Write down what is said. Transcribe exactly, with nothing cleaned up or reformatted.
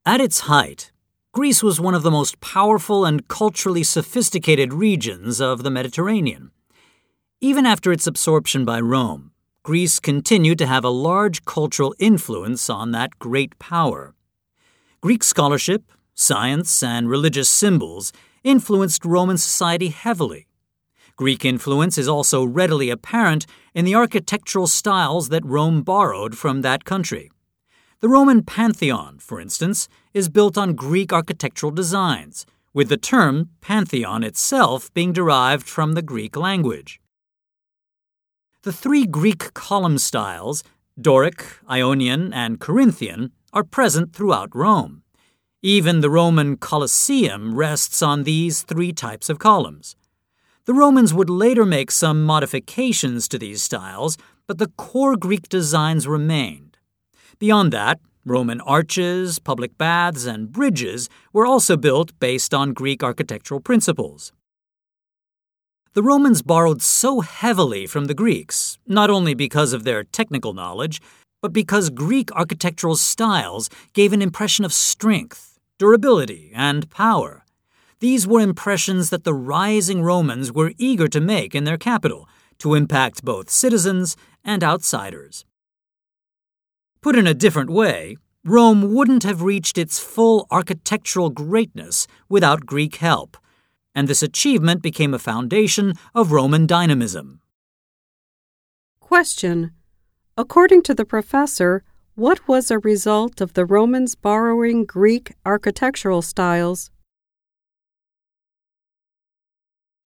At its height, Greece was one of the most powerful and culturally sophisticated regions of the Mediterranean. Even after its absorption by Rome, Greece continued to have a large cultural influence on that great power. Greek scholarship, science, and religious symbols influenced Roman society heavily. Greek influence is also readily apparent in the architectural styles that Rome borrowed from that country. The Roman Pantheon, for instance, is built on Greek architectural designs, with the term Pantheon itself being derived from the Greek language. The three Greek column styles, Doric, Ionian, and Corinthian, are present throughout Rome. Even the Roman Colosseum rests on these three types of columns. The Romans would later make some modifications to these styles, but the core Greek designs remained. Beyond that, Roman arches, public baths, and bridges were also built based on Greek architectural principles. The Romans borrowed so heavily from the Greeks, not only because of their technical knowledge, but because Greek architectural styles gave an impression of strength, durability, and power. These were impressions that the rising Romans were eager to make in their capital, to impact both citizens and outsiders. Put in a different way, Rome wouldn't have reached its full architectural greatness without Greek help, and this achievement became a foundation of Roman dynamism. Question. According to the professor, what was a result of the Romans borrowing Greek architectural styles?